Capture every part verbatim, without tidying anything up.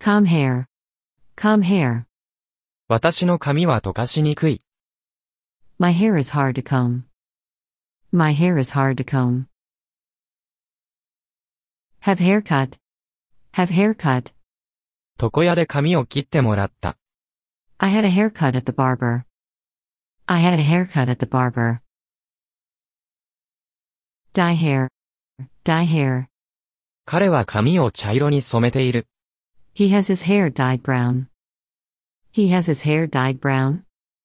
Calm hair. Calm hair. 私の髪は溶かしにくい。 My hair is hard to comb. My hair is hard to comb. Have haircut. Have haircut. 床屋で髪を切ってもらった。 I had a haircut at the barber. I had a haircut at the barber. Dye hair. Dye hair. 彼は髪を茶色に染めている。 He has his hair dyed brown. He has his hair dyed brown.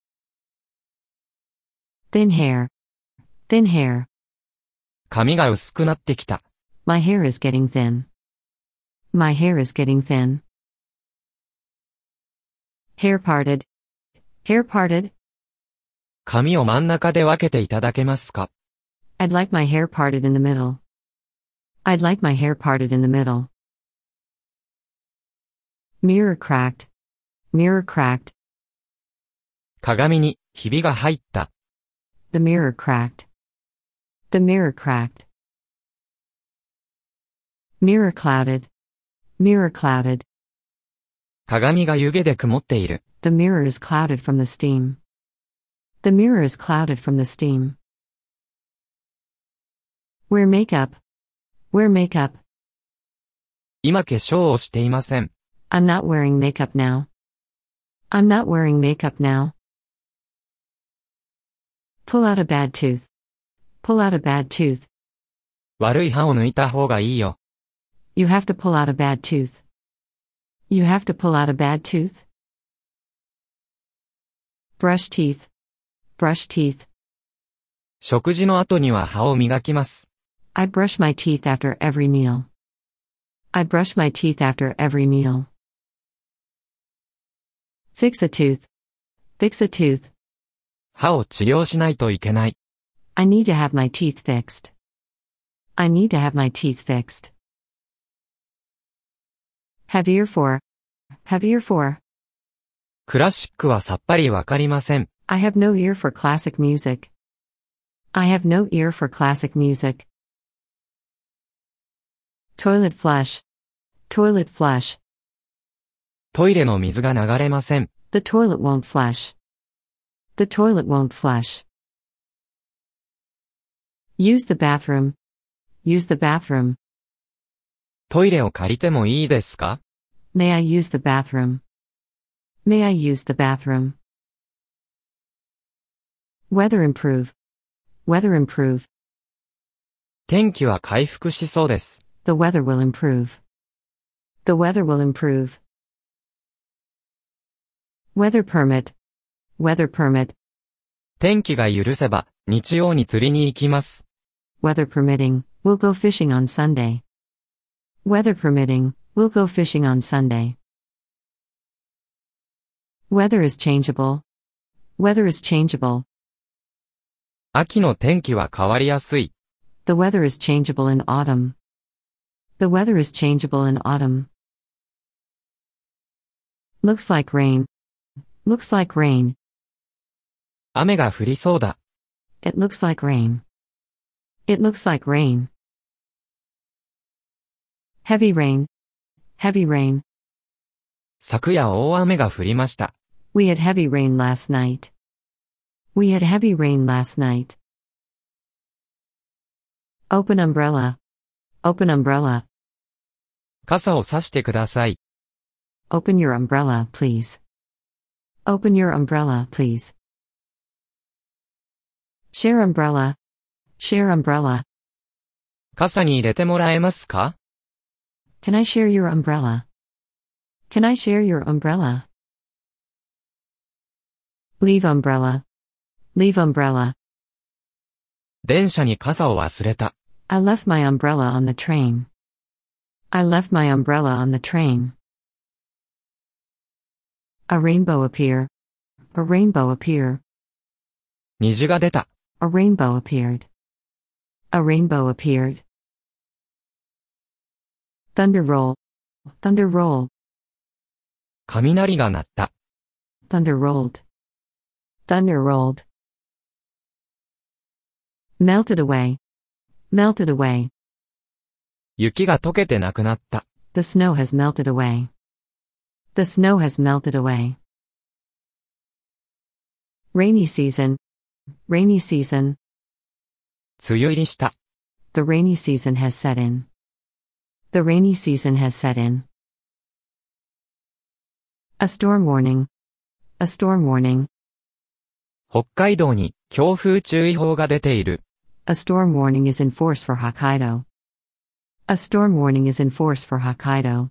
Thin hair. Thin hair. 髪が薄くなってきた。 My hair is getting thin. My hair is getting thin. Hair parted. Hair parted. 髪を真ん中で分けていただけますか？ I'd like my hair parted in the middle. I'd like my hair parted in the middle. Mirror cracked. Mirror cracked. 鏡にひびが入った。 The mirror cracked. The mirror cracked. Mirror clouded. Mirror clouded. 鏡が湯気で曇っている。 The mirror is clouded from the steam. The mirror is clouded from the steam. Wear makeup. Wear makeup. 今化粧をしていません。 I'm not wearing makeup now. I'm not wearing makeup now. Pull out a bad tooth. Pull out a bad tooth. 悪い歯を抜いた方がいいよ。 You have to pull out a bad tooth. You have to pull out a bad tooth. Brush teeth. Brush teeth. 食事の後には歯を磨きます。 I brush my teeth after every meal. I brush my teeth after every meal. Fix a tooth. Fix a tooth. 歯を治療しないといけない。 I need to have my teeth fixed. I need to have my teeth fixed. Have ear for. Have ear for. クラシックはさっぱりわかりません。 I have no ear for classic music. I have no ear for classic music. Toilet flush. Toilet flush. トイレの水が流れません。 The toilet won't flush. The toilet won't flush. Use the bathroom. Use the bathroom. トイレを借りてもいいですか？ May I use the bathroom? May I use the bathroom? Weather improve. Weather improve. 天気は回復しそうです。 The weather will improve. The weather will improve. Weather permit. Weather permit. 天気が許せば、日曜に釣りに行きます。 Weather permitting, we'll go fishing on Sunday. Weather permitting, we'll go fishing on Sunday. Weather is changeable. Weather is changeable. 秋の天気は変わりやすい。 The weather is changeable in autumn. The weather is changeable in autumn. Looks like rain. Looks like rain. 雨が降りそうだ。 It looks like rain. It looks like rain. Heavy rain. Heavy rain. 昨夜大雨が降りました。 We had heavy rain last night. We had heavy rain last night. Open umbrella. Open umbrella. 傘を差してください。 Open your umbrella, please. Open your umbrella, please. Share umbrella. Share umbrella. 傘に入れてもらえますか？ Can I share your umbrella? Can I share your umbrella? Leave umbrella. Leave umbrella. 電車に傘を忘れた。 I left my umbrella on the train. I left my umbrella on the train. A rainbow appear. A rainbow appear. 虹が出た。 A rainbow appeared. A rainbow appeared. Thunder roll. Thunder roll. 雷が鳴った。 Thunder rolled. Thunder rolled. Melted away. Melted away. 雪が溶けてなくなった。 The snow has melted away. The snow has melted away. Rainy season. Rainy season. 梅雨入りした。 The rainy season has set in. The rainy season has set in. A storm warning. A storm warning. 北海道に強風注意報が出ている。 A storm warning is in force for Hokkaido. A storm warning is in force for Hokkaido.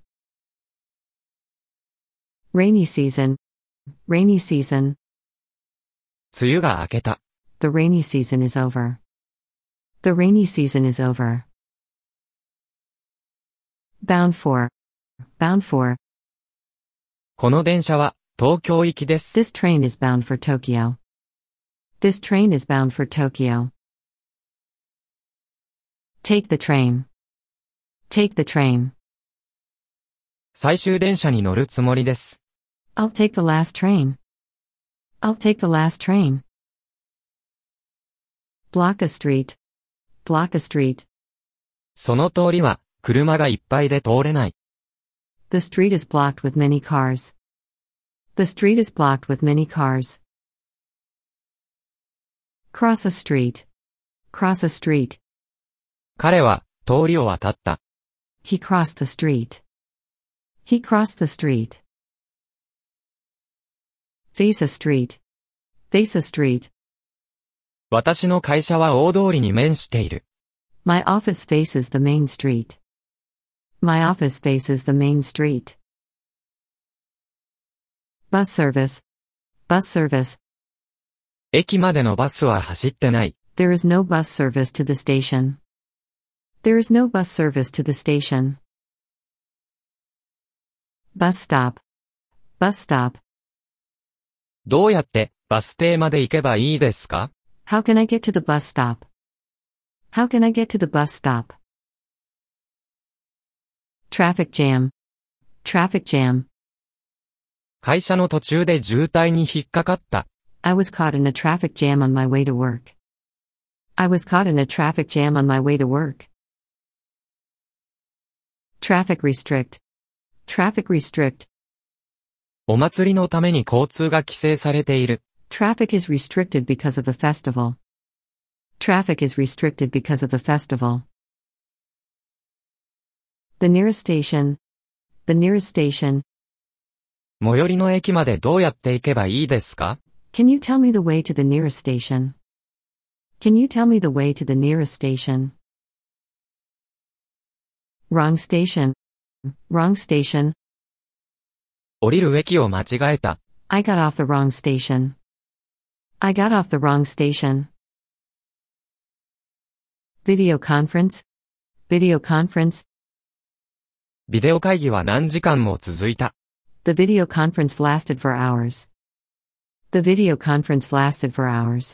Rainy season. Rainy season. 梅雨が明けた。 The rainy season is over. The rainy season is over. Bound for. Bound for. この電車は東京行きです。 This train is bound for Tokyo. This train is bound for Tokyo. Take the train. Take the train. 最終電車に乗るつもりです。 I'll take the last train. I'll take the last train. Block a street. Block a street. その通りは車がいっぱいで通れない。 The street is blocked with many cars. The street is blocked with many cars. Cross a street. Cross a street. 彼は通りを渡った。 He crossed the street. He crossed the street. Face a street. Face a street. 私の会社は大通りに面している。 My office faces the main street. My office faces the main street. Bus service. Bus service. 駅までのバスは走ってない。 There is no bus service to the station. There is no bus service to the station. Bus stop. Bus stop. どうやってバス停まで行けばいいですか？ How can I get to the bus stop? How can I get to the bus stop? Traffic jam. Traffic jam. 会社の途中で渋滞に引っかかった。 I was caught in a traffic jam on my way to work. I was caught in a traffic jam on my way to work. Traffic restrict. Traffic restrict. お祭りのために交通が規制されている。 Traffic is restricted because of the festival. Traffic is restricted because of the festival. The nearest station. The nearest station. 最寄りの駅までどうやって行けばいいですか？ Can you tell me the way to the nearest station? Can you tell me the way to the nearest station? Wrong station. Wrong station. 降りる駅を間違えた。 I got off the wrong station. I got off the wrong station. Video conference. Video conference. ビデオ会議は何時間も続いた。 The video conference lasted for hours. The video conference lasted for hours.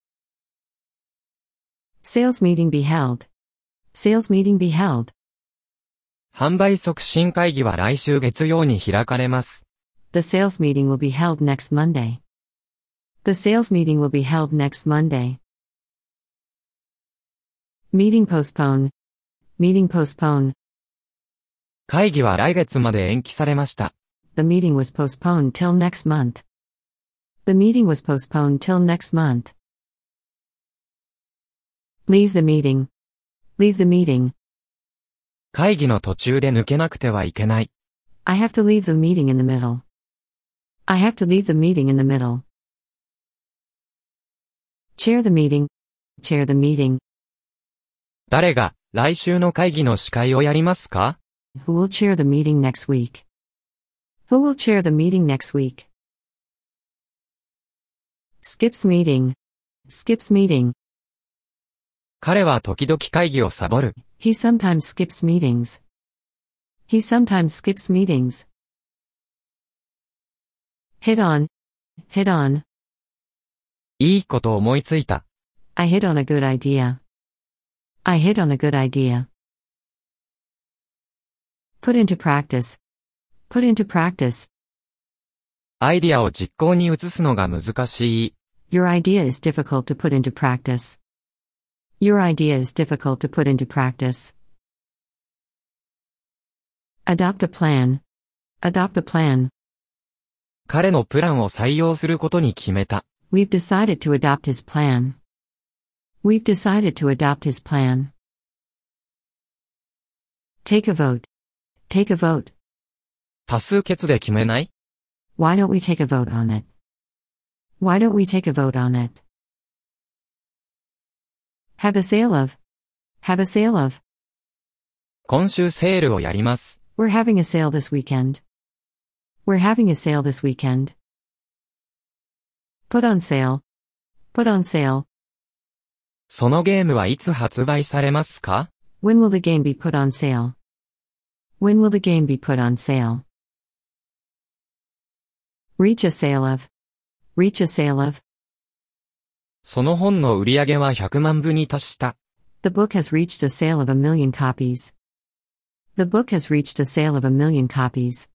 Sales meeting be held. Sales meeting be held. 販売促進会議は来週月曜に開かれます。 The sales meeting will be held next Monday. The sales meeting will be held next Monday. Meeting postpone. Meeting postpone. 会議は来月まで延期されました。 The meeting was postponed till next month. The meeting was postponed till next month. Leave the meeting. Leave the meeting. 会議の途中で抜けなくてはいけない。 I have to leave the meeting in the middle. I have to leave the meeting in the middle. Chair the meeting. Chair the meeting. 誰が来週の会議の司会をやりますか？ Who will chair the meeting next week? Who will chair the meeting next week? Skips meeting. Skips meeting. 彼は時々会議をサボる。 He sometimes skips meetings. He sometimes skips meetings. Hit on. Hit on. いいこと思いついた。 I hit on a good idea. I hit on a good idea. Put into practice. Put into practice. アイディアを実行に移すのが難しい。 Your idea is difficult to put into practice. Your idea is difficult to put into practice. Adopt a plan. Adopt a plan. 彼のプランを採用することに決めた。 We've decided to adopt his plan. We've decided to adopt his plan. Take a vote. Take a vote. 多数決で決めない？ Why don't we take a vote on it? Why don't we take a vote on it? Have a sale of. Have a sale of. 今週セールをやります。 We're having a sale this weekend. We're having a sale this weekend. Put on sale. Put on sale. そのゲームはいつ発売されますか？ When will the game be put on sale? When will the game be put on sale? Reach a sale of. Reach a sale of. その本の売り上げはひゃくまんぶに達した。 The book has reached a sale of a million copies. The book has reached a sale of a million copies.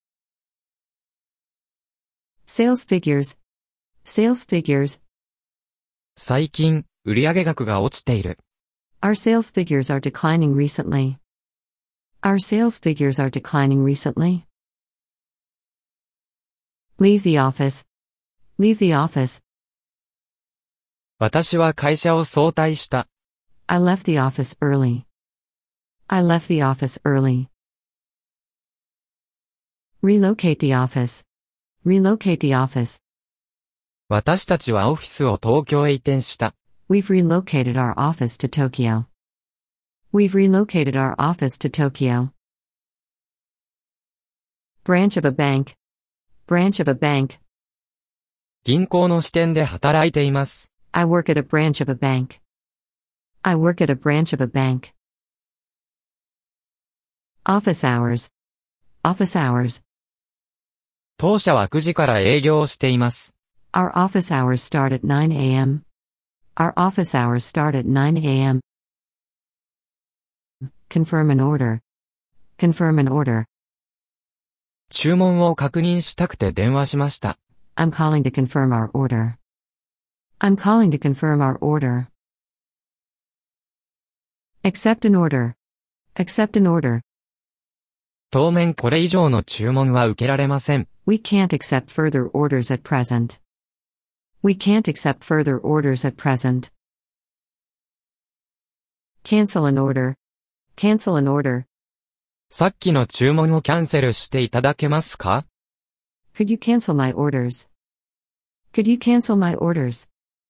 Sales figures. Sales figures. 最近、売上額が落ちている。 Our sales figures are declining recently. Our sales figures are declining recently. Leave the office. Leave the office. 私は会社を早退した。 I left the office early. I left the office early. Relocate the office. Relocate the office. 私たちはオフィスを東京へ移転した。 We've relocated our office to Tokyo. We've relocated our office to Tokyo. Branch of a bank. Branch of a bank. 銀行の支店で働いています。 I work at a branch of a bank. I work at a branch of a bank. Office hours. Office hours. 当社はくじから営業しています。 Our office hours start at nine a m Our office hours start at nine a m Confirm an order. Confirm an order. 注文を確認したくて電話しました。 I'm calling to confirm our order. I'm calling to confirm our order. Accept an order. Accept an order. 当面これ以上の注文は受けられません。 We can't accept further orders at present. We can't accept further orders at present. Cancel an order. Cancel an order. さっきの注文をキャンセルしていただけますか？ Could you cancel my orders? Could you cancel my orders?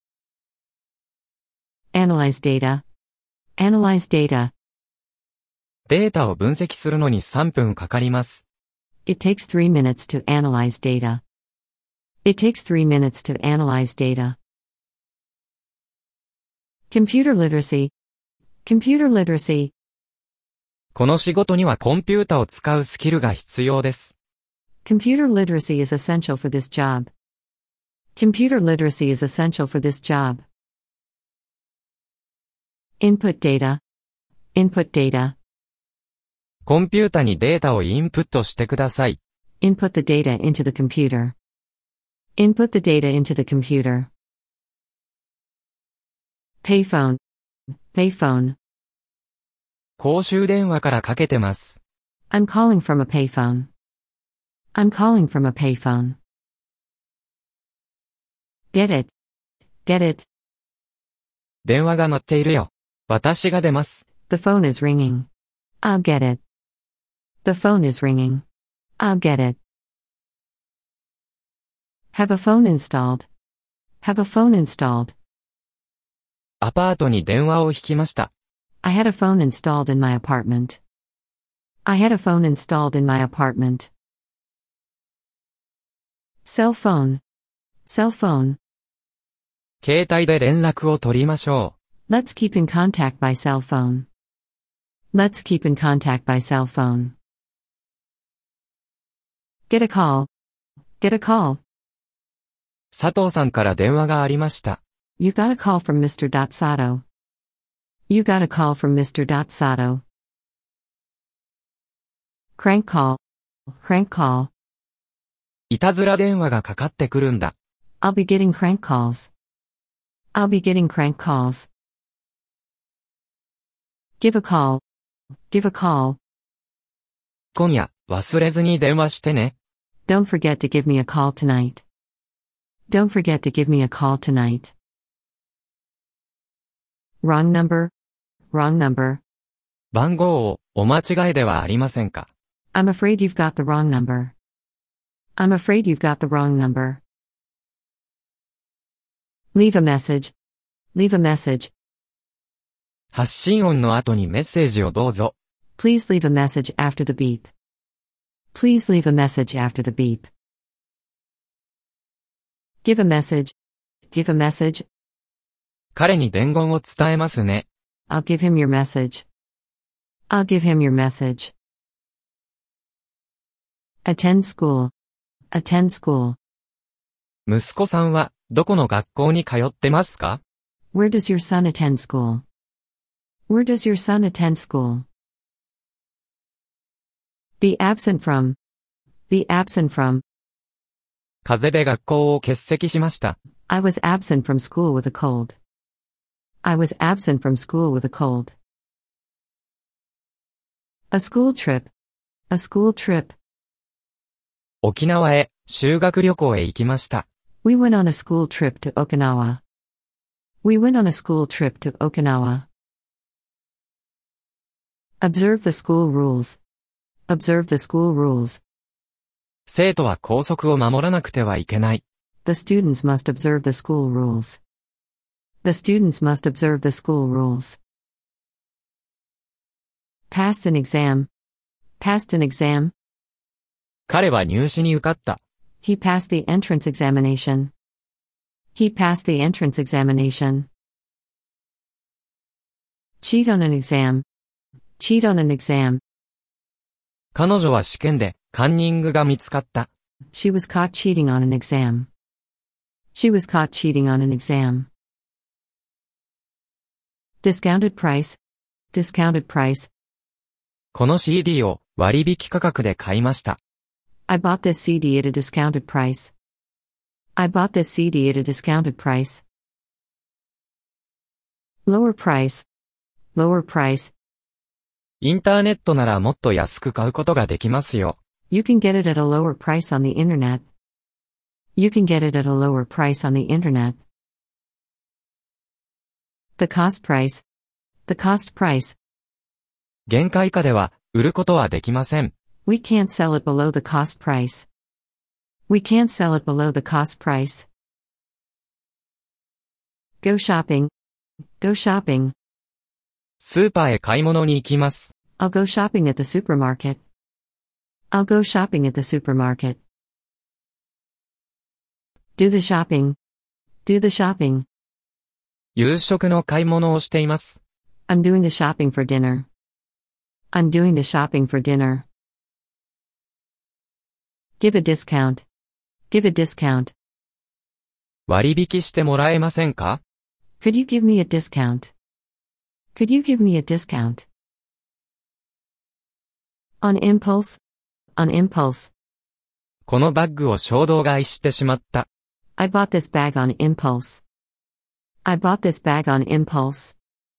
Analyze data. Analyze data. データを分析するのにさんぷんかかります。 It takes three minutes to analyze data. It takes three minutes to analyze data. Computer literacy. Computer literacy. この仕事にはコンピュータを使うスキルが必要です。 Computer literacy is essential for this job. Computer literacy is essential for this job. Input data. Input data. コンピュータにデータをインプットしてください。 Input the data into the computer. Input the data into the computer. Payphone. Payphone. 公衆電話からかけてます。 I'm calling from a payphone. I'm calling from a payphone. Get it. Get it. 電話が鳴っているよ。私が出ます。 The phone is ringing. I'll get it. The phone is ringing. I'll get it. Have a phone installed. Have a phone installed. アパートに電話を引きました。 I had a phone installed in my apartment. I had a phone installed in my apartment. Cell phone. Cell phone. 携帯で連絡を取りましょう。 Let's keep in contact by cell phone. Let's keep in contact by cell phone. Get a call. Get a call. 佐藤さんから電話がありました。 You got a call from Mister Sato. You got a call from Mister Sato. Crank call. Crank call. いたずら電話がかかってくるんだ。 I'll be getting crank calls. I'll be getting crank calls. Give a call. Give a call. 今夜、忘れずに電話してね。 Don't forget to give me a call tonight. Don't forget to give me a call tonight. Wrong number. Wrong number. 番号をお間違いではありませんか？ I'm afraid you've got the wrong number. I'm afraid you've got the wrong number. Leave a message. Leave a message. 発信音の後にメッセージをどうぞ。 Please leave a message after the beep. Please leave a message after the beep. Give a message. Give a message. 彼に伝言を伝えますね。 I'll give him your message. I'll give him your message. Attend school. Attend school. 息子さんはどこの学校に通ってますか？ Where does your son attend school? Where does your son attend school? Be absent from. Be absent from. 風邪で学校を欠席しました。 I was absent from school with a cold. I was absent from school with a cold. A school trip. A school trip. 沖縄へ修学旅行へ行きました。 We went on a school trip to Okinawa. We went on a school trip to Okinawa. Observe the school rules. Observe the school rules. 生徒は校則を守らなくてはいけない。 The students must observe the school rules. The students must observe the school rules. Passed an exam. Passed an exam. 彼は入試に受かった。 He passed the entrance examination. He passed the entrance examination. Cheat on an exam. Cheat on an exam. 彼女は試験でカンニングが見つかった。 She was caught cheating on an exam. She was caught cheating on an exam. Discounted price. Discounted price. この シーディー を割引価格で買いました。 I bought this C D at a discounted price. I bought this C D at a discounted price. Lower price. Lower price. インターネットならもっと安く買うことができますよ。 You can get it at a lower price on the internet. You can get it at a lower price on the internet. The cost price. The cost price. 原価以下では売ることはできません。 We can't sell it below the cost price. We can't sell it below the cost price. Go shopping. Go shopping. スーパーへ買い物に行きます。 I'll go shopping at the supermarket. I'll go shopping at the supermarket. Do the shopping. Do the shopping. 夕食の買い物をしています。 I'm doing the shopping for dinner. I'm doing the shopping for dinner. Give a discount. Give a discount. 割引してもらえませんか？ Could you give me a discount? Could you give me a discount? On impulse. On impulse. このバッグを衝動買いしてしまった。 I bought this bag on impulse. I bought this bag on impulse.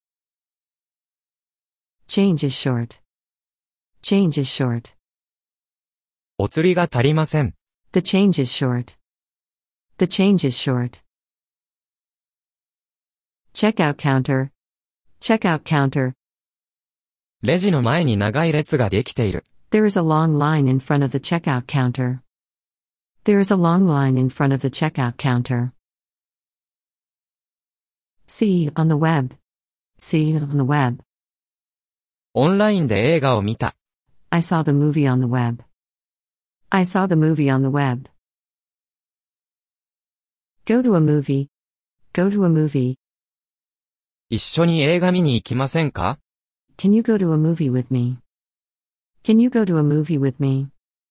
Change is short. Change is short. お釣りが足りません。 The change is short. The change is short. Checkout counter. Checkout counter. レジの前に長い列ができている。 There is a long line in front of the checkout counter. There is a long line in front of the checkout counter. See on the web. See on the web. オンラインで映画を見た。 I saw the movie on the web. I saw the movie on the web. Go to a movie. Go to a movie. 一緒に映画見に行きませんか？ Can you go to a movie with me? Can you go to a movie with me?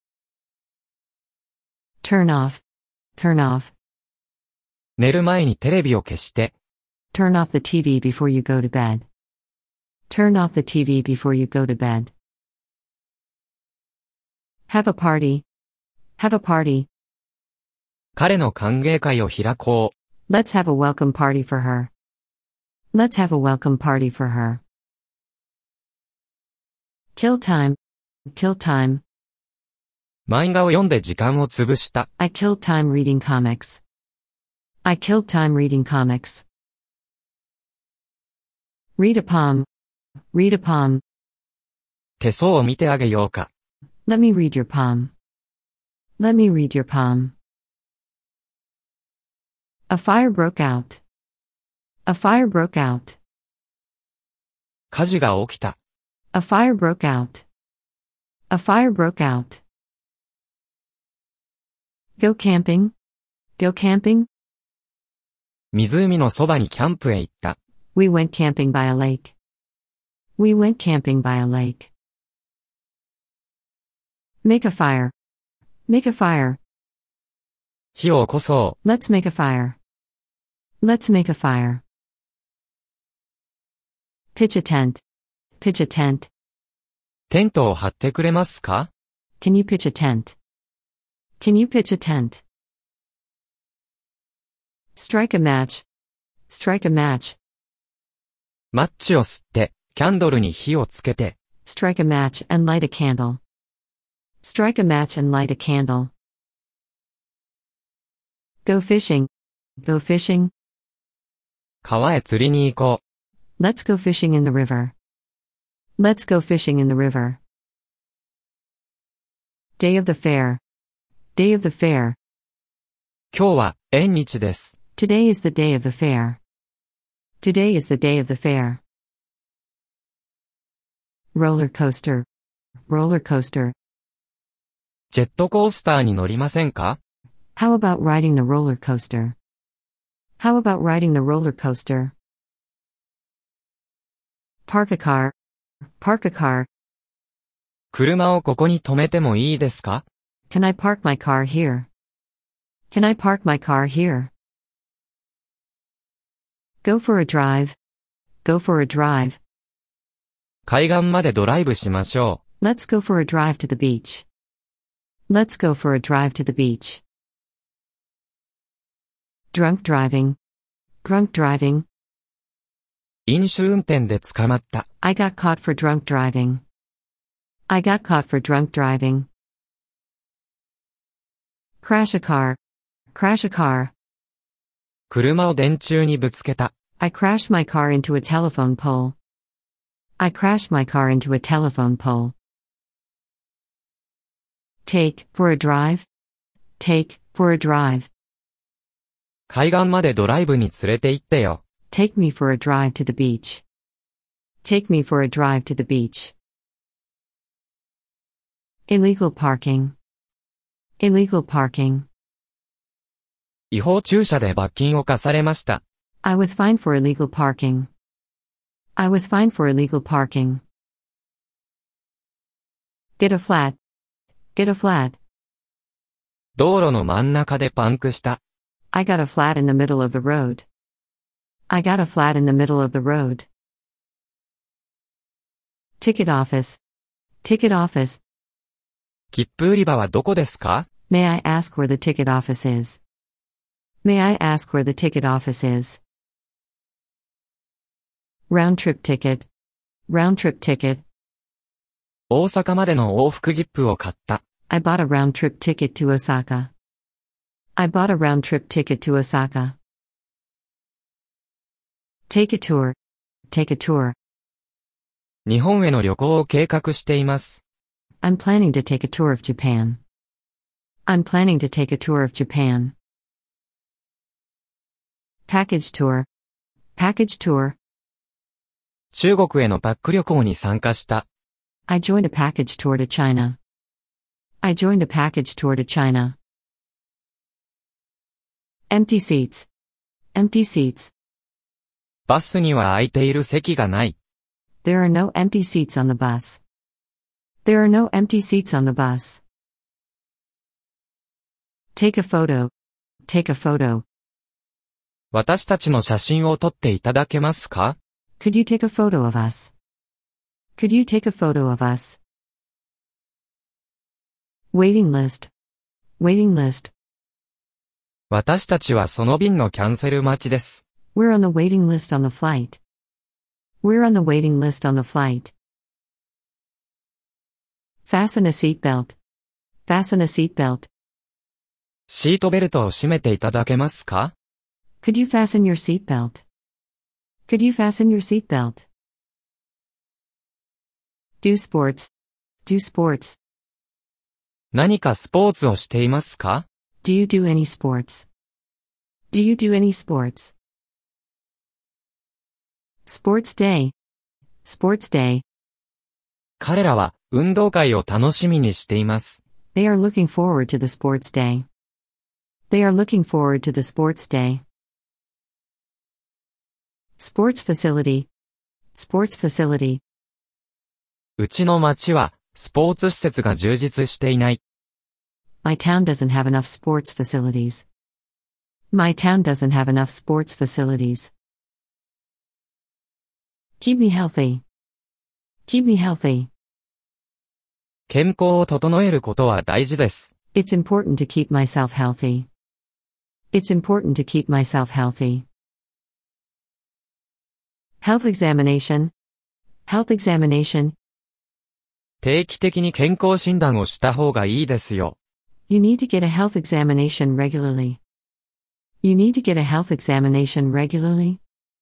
Turn off. Turn off. 寝る前にテレビを消して。 Turn off the T V before you go to bed. Turn off the T V before you go to bed. Have a party. Have a party. 彼の歓迎会を開こう。 Let's have a welcome party for her. Let's have a welcome party for her. Kill time. Kill time. 漫画を読んで時間を潰した。 I killed time reading comics. I killed time reading comics. Read a poem. Read a poem. 手相を見てあげようか。 Let me read your palm. Let me read your palm. A fire broke out. A fire broke out. 火事が起きた。 A fire broke out. A fire broke out. Go camping. Go camping. 湖のそばにキャンプへ行った。 We went camping by a lake. We went camping by a lake. Make a fire. Make a fire. 火を起こそ Let's make a fire. Let's make a fire. Pitch a tent. Pitch a tent. う。テントを張ってくれますか？ Can you pitch a tent? Can you pitch a tent? Strike a match. Strike a match. マッチを吸って、キャンドルに火をつけて。 Strike a match and light a candle. Strike a match and light a candle. Go fishing. Go fishing. 川へ釣りに行こう。 Let's go fishing in the river. Let's go fishing in the river. Day of the fair. Day of the fair. 今日は縁日です。 Today is the day of the fair. Today is the day of the fair. Roller coaster. Roller coaster. ジェットコースターに乗りませんか？ How about riding the roller coaster? How about riding the roller coaster? Park a car. Park a car. 車をここに止めてもいいですか？ Can I park my car here? Can I park my car here? Go for a drive. Go for a drive. 海岸までドライブしましょ Let's go for a drive to the beach. Let's go for a drive to the beach. Drunk driving. Drunk driving. う。飲酒運転で捕まった。 I got caught for drunk driving. I got caught for drunk driving. Crash a car. Crash a car. 車を電柱にぶつけた。 I crashed my car into a telephone pole. I crashed my car into a telephone pole. Take for a drive. Take for a drive. 海岸までドライブに連れて行ってよ。 Take me for a drive to the beach. Take me for a drive to the beach. Illegal parking. Illegal parking. 違法駐車で罰金を課されました。 I was fined for illegal parking. I was fined for illegal parking. Get a flat. Get a flat. 道路の真ん中でパンクした。 I got a flat in the middle of the road. I got a flat in the middle of the road. Ticket office. Ticket office. 切符売り場はどこですか？ May I ask where the ticket office is? May I ask where the ticket office is? Round trip ticket. Round trip ticket. 大阪までの往復切符を買った。 I bought a round trip ticket to Osaka. I bought a round trip ticket to Osaka. Take a tour. Take a tour. 日本への旅行を計画しています。 I'm planning to take a tour of Japan. I'm planning to take a tour of Japan. Package tour. Package tour. 中国へのパック旅行に参加した。 I joined a package tour to China. I joined a package tour to China. Empty seats. Empty seats. バスには空いている席がない。 There are no empty seats on the bus. There are no empty seats on the bus. Take a photo. Take a photo. 私たちの写真を撮っていただけますか？ Could you take a photo of us? Could you take a photo of us? Waiting list. Waiting list. 私たちはその便のキャンセル待ちです。 We're on the waiting list on the flight. We're on the waiting list on the flight. Fasten a seatbelt. Fasten a seatbelt. シートベルトを締めていただけますか？ Could you fasten your seatbelt? Could you fasten your seatbelt? Do sports. Do sports. 何かスポーツをしていますか？ Do you do any sports? Do you do any sports? Sports day. Sports day. 彼らは運動会を楽しみにしています。 They are looking forward to the sports day. They are looking forward to the sports day. Sports facility. Sports facility. うちの町はスポーツ施設が充実していない。 My town doesn't have enough sports facilities. My town doesn't have enough sports facilities. Keep me healthy. Keep me healthy. 健康を整えることは大事です。 It's important to keep myself healthy. It's important to keep myself healthy. Health examination. Health examination. 定期的に健康診断をした方がいいですよ。 You need to get a health examination regularly. You need to get a health examination regularly.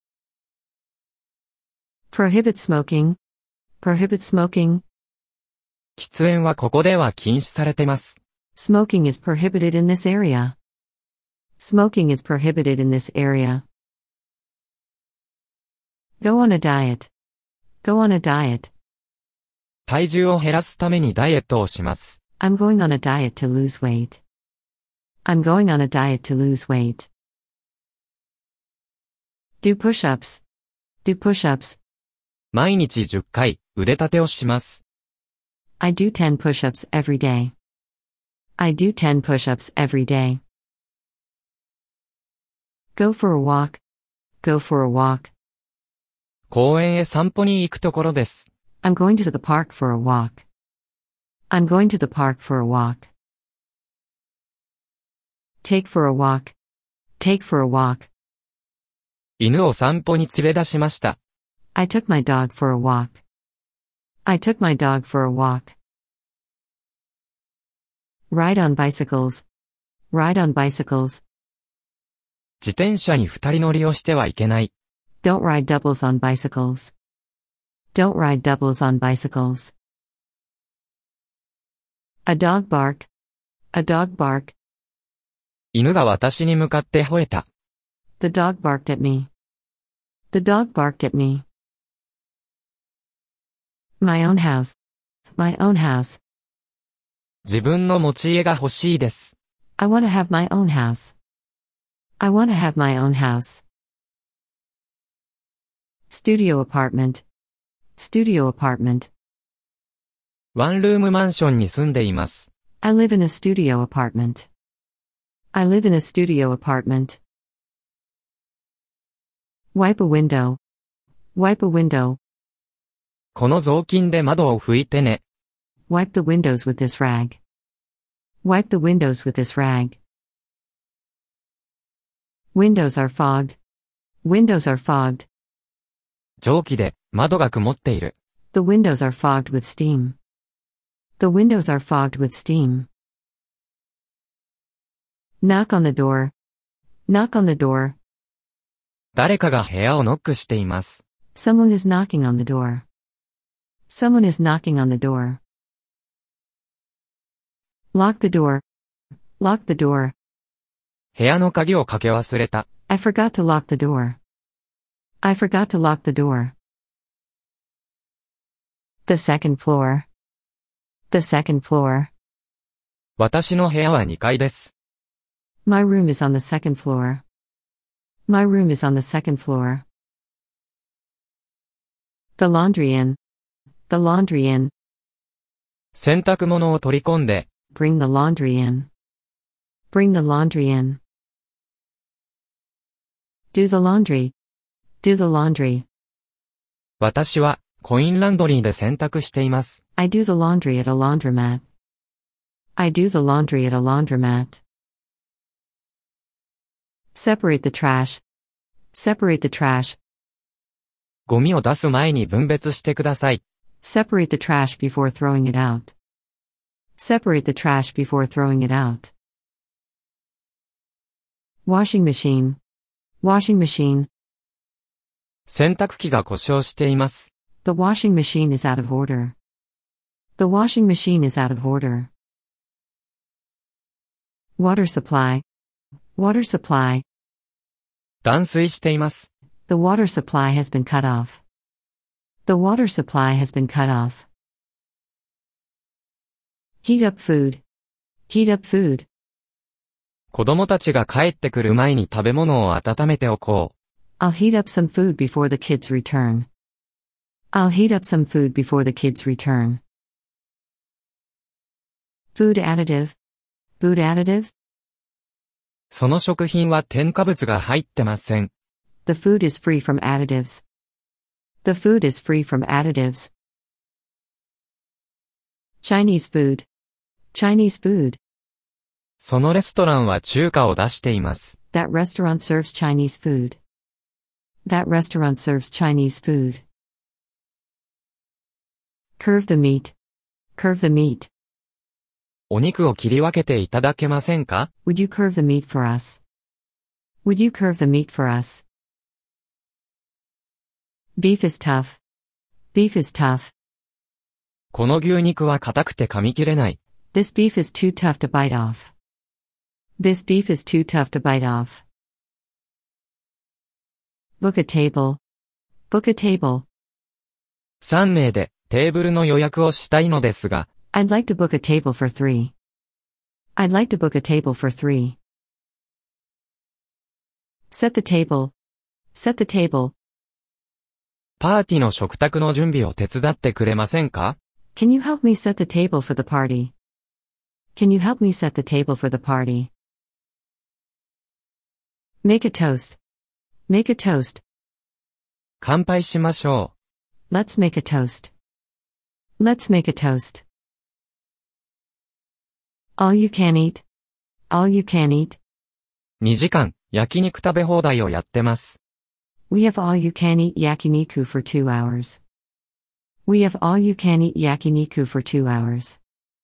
Prohibit smoking. Prohibit smoking. 喫煙はここでは禁止されてます。 Smoking is prohibited in this area. Smoking is prohibited in this area. Go on a diet. Go on a diet. 体重を減らすためにダイエットをします。 I'm going on a diet to lose weight. I'm going on a diet to lose weight. Do push-ups. Do push-ups. 毎日じゅっかい腕立てをします。 I do ten push-ups every day. I do ten push-ups every day. Go for a walk. Go for a walk. 公園へ散歩に行くところです。 I'm going to the park for a walk. I'm going to the park for a walk. Take for a walk. Take for a walk. 犬を散歩に連れ出しました。 I took my dog for a walk. I took my dog for a walk. Ride on bicycles. Ride on bicycles. 自転車に二人乗りをしてはいけない。 Don't ride doubles on bicycles. Don't ride doubles on bicycles. A dog bark. A dog bark. 犬が私に向かって吠えた。 The dog barked at me. The dog barked at me. My own house. My own house. 自分の持ち家が欲しいです。 I want to have my own house. I want to have my own house. Studio apartment. Studio apartment. ワンルームマンションに住んでいます。 I live in a studio apartment. I live in a studio apartment. Wipe a window. Wipe a window. この雑巾で窓を拭いてね。 Wipe the windows with this rag. Wipe the windows with this rag. Windows are fogged. Windows are fogged. 蒸気で窓が曇っている。 The windows are fogged with steam. The windows are fogged with steam. Knock on the door. Knock on the door. 誰かが部屋をノックしています。 Someone is knocking on the door. Someone is knocking on the door. Lock the door. Lock the door. 部屋の鍵をかけ忘れた。 I forgot to lock the door. I forgot to lock the door. The second floor. The second floor. 私の部屋はにかいです。 My room is on the second floor. My room is on the second floor. The laundry in. The laundry in. 洗濯物を取り込んで。 Bring the laundry in. Bring the laundry in. Do the laundry. Do the laundry. 私はコインランドリーで洗濯しています。 I do the laundry at a laundromat. I do the laundry at a laundromat. Separate the trash. Separate the trash. ゴミを出す前に分別してください。 Separate the trash before throwing it out. Separate the trash before throwing it out. Washing machine. Washing machine. 洗濯機が故障しています。 The washing machine is out of order. The washing machine is out of order. Water supply. Water supply. 断水しています。 The water supply has been cut off. The water supply has been cut off. Heat up food. Heat up food. 子供たちが帰ってくる前に食べ物を温めておこう。 I'll heat up some food before the kids return. I'll heat up some food before the kids return. Food additive. Food additive. その食品は添加物が入ってません。 The food is free from additives. The food is free from additives. Chinese food. Chinese food. そのレストランは中華を出しています。 That restaurant serves Chinese food. That restaurant serves Chinese food. Curve the meat. Curve the meat. お肉を切り分けていただけませんか？ Would you curve the meat for us? Would you curve the meat for us? Beef is tough. Beef is tough. この牛肉は硬くて噛み切れない。 This beef is too tough to bite off. This beef is too tough to bite off. Book a table. Book a table. さん名でテーブルの予約をしたいのですが。 I'd like to book a table for three. I'd like to book a table for three. Set the table. Set the table. パーティの食卓の準備を手伝ってくれませんか？ Can you help me set the table for the party? Can you help me set the table for the party? Make a toast. Make a toast. 乾杯しましょう。Let's make a toast. Let's make a toast. All you can eat. All you can eat. にじかん、焼肉食べ放題をやってます。 We have all you can eat yakiniku for two hours. We have all you can eat yakiniku for two hours.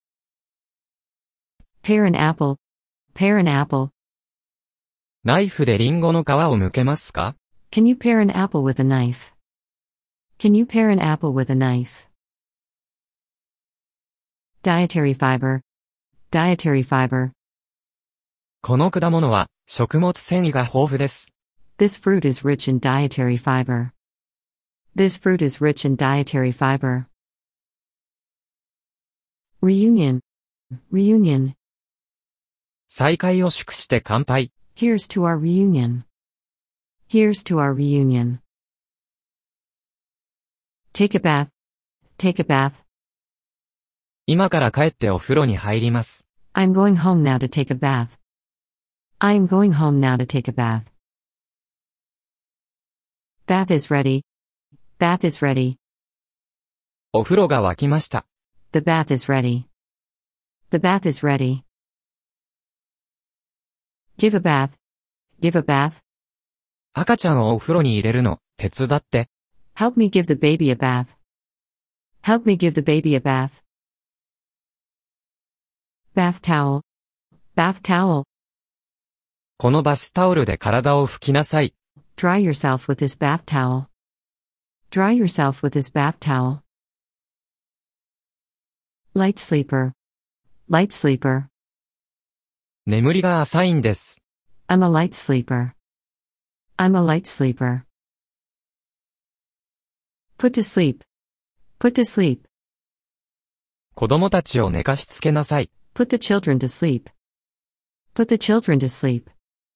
Pare an apple. Pare an apple. ナイフでリンゴの皮を剥けますか？ Can you pare an apple with a knife? Can you pare an apple with a knife? Dietary fiber. Dietary fiber. この果物は食物繊維が豊富です。 This fruit is rich in dietary fiber. This fruit is rich in dietary fiber. Reunion. Reunion. 再会を祝して乾杯。 Here's to our reunion. Here's to our reunion. Take a bath. Take a bath. 今から帰ってお風呂に入ります。 I'm going home now to take a bath. I'm going home now to take a bath. Bath is ready. Bath is ready. お風呂が沸きました。 The bath is ready. The bath is ready. Give a bath. Give a bath. 赤ちゃんをお風呂に入れるの、手伝って。 Help me give the baby a bath. Help me give the baby a bath. Bath towel. Bath towel. このバスタオルで体を拭きなさい。 Dry yourself with this bath towel. Dry yourself with this bath towel. Light sleeper. Light sleeper. 眠りが浅いんです。 I'm a light sleeper. I'm a light sleeper. Put to sleep. Put to sleep. 子供たちを寝かしつけなさい。 Put the children to sleep. Put the children to sleep.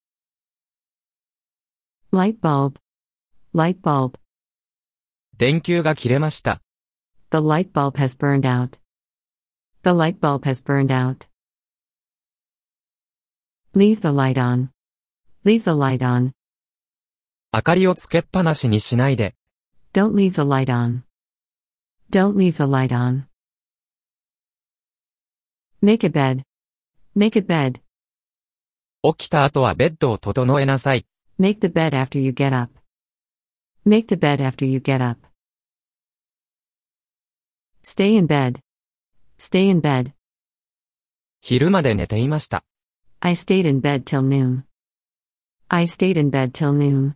Light bulb. Light bulb. 電球が切れました。 The light bulb has burned out. The light bulb has burned out. Leave the light on. Leave the light on. 明かりをつけっぱなしにしないで。 Don't leave the light on. Don't leave the light on. Make a bed. Make a bed. 起きた後はベッドを整えなさい。 Make the bed after you get up. Make the bed after you get up. Stay in bed. Stay in bed. 昼まで寝ていました。 I stayed in bed till noon. I stayed in bed till noon.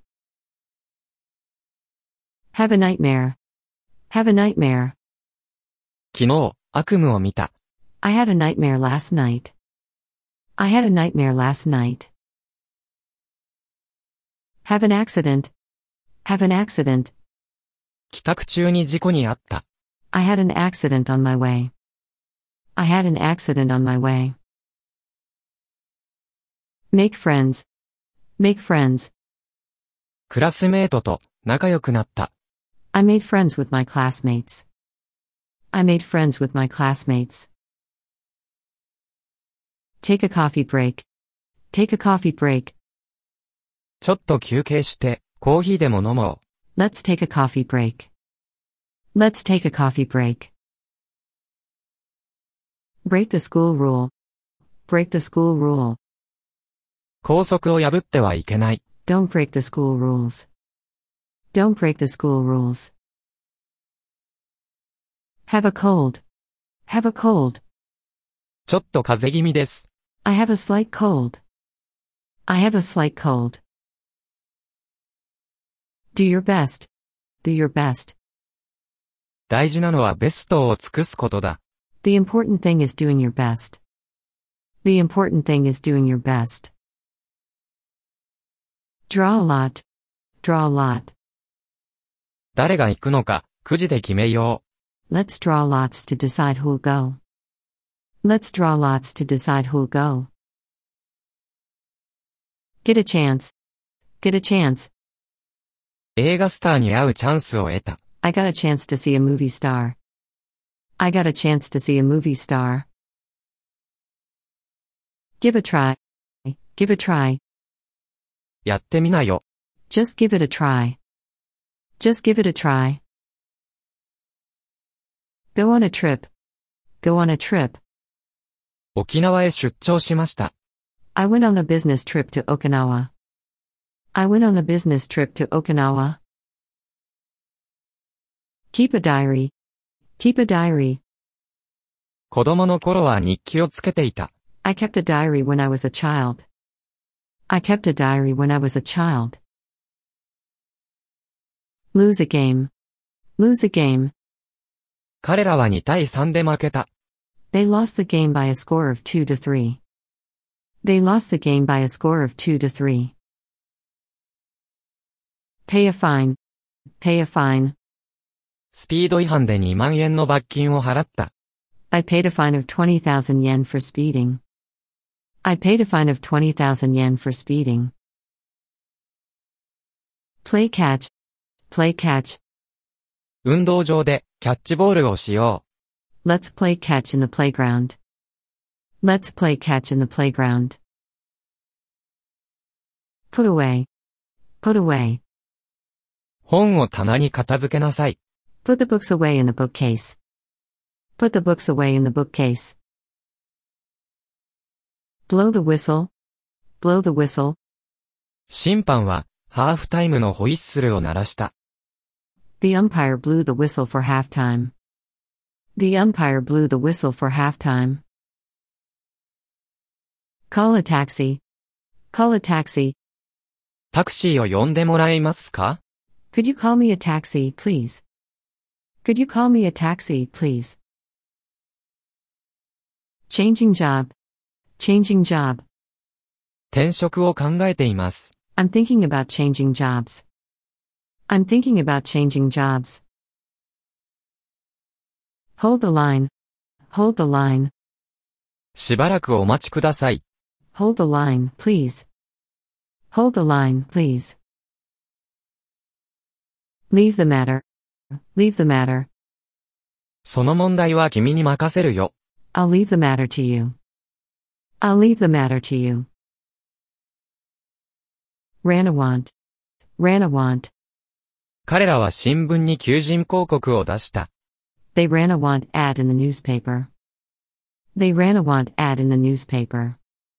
Have a nightmare. Have a nightmare. 昨日、悪夢を見た。 I had a nightmare last night. I had a nightmare last night. Have an accident. Have an accident. 帰宅中に事故に遭った。 I had an accident on my way. I had an accident on my way. Make friends. Make friends. クラスメートと仲良くなった。 I made friends with my classmates. I made friends with my classmates. Take a coffee break. Take a coffee break. ちょっと休憩して、コーヒーでも飲もう。 Let's take a coffee break. Let's take a coffee break. Break the school rule. Break the school rule. 校則を破ってはいけない。 Don't break the school rules. Don't break the school rules. Have a cold. Have a cold. ちょっと風邪気味です。 I have a slight cold. I have a slight cold. Do your best. Do your best. 大事なのはベストを尽くすことだ。 The important thing is doing your best. The important thing is doing your best. Draw a lot. Draw a lot. 誰が行くのか、くじで決めよう。 Let's draw lots to decide who'll go. Let's draw lots to decide who'll go. Get a chance. Get a chance. 映画スターに会うチャンスを得た。 I got a chance to see a movie star. I got a chance to see a movie star. Give a try. Give a try. やってみなよ。 Just give it a try. Just give it a try. Go on a trip. Go on a trip. 沖縄へ出張しました。 I went on a business trip to Okinawa. I went on a business trip to Okinawa. Keep a diary. Keep a diary. 子供の頃は日記をつけていた。 I kept a diary when I was a child. I kept a diary when I was a child. Lose a game. Lose a game. 彼らはにたいさんで負けた。 They lost the game by a score of two to three. They lost the game by a score of two to three. Pay a fine. Pay a fine. スピード違反でにまんえんの罰金を払った。 I paid a fine of twenty thousand yen for speeding. I paid a fine of twenty thousand yen for speeding. Play catch. Play catch. 運動場でキャッチボールをしよう。 Let's play catch in the playground. Let's play catch in the playground. Put away. Put away. 本を棚に片付けなさい。 Put the books away in the bookcase. Put the books away in the bookcase. Blow the whistle. Blow the whistle. 審判はハーフタイムのホイッスルを鳴らした。 The umpire blew the whistle for halftime. The umpire blew the whistle for halftime. Call a taxi. Call a taxi. タクシーを呼んでもらえますか？ Could you call me a taxi, please? Could you call me a taxi, please? Changing job. Changing job. 転職を考えています。 I'm thinking about changing jobs. I'm thinking about changing jobs. Hold the line. Hold the line. しばらくお待ちください。 Hold the line, please. Hold the line, please. Leave the matter. Leave the matter. その問題は君に任せるよ。 I'll leave the matter to you. I'll leave the matter to you. Ranawant. Ranawant. 彼らは新聞に求人広告を出した。 They ran a want ad in the newspaper. They ran a want ad in the newspaper.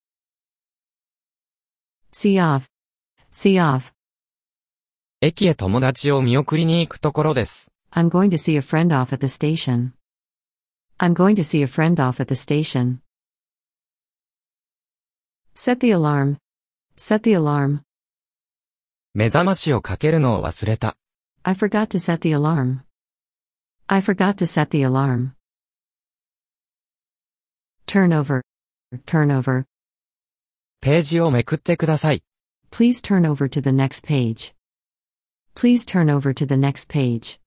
See off. See off. 駅へ友達を見送りに行くところです。 I'm going to see a friend off at the station. I'm going to see a friend off at the station. Set the alarm. Set the alarm. 目覚ましをかけるのを忘れた。 I forgot to set the alarm. I forgot to set the alarm. Turn over. Turn over. ページをめくってください。 Please turn over to the next page. Please turn over to the next page.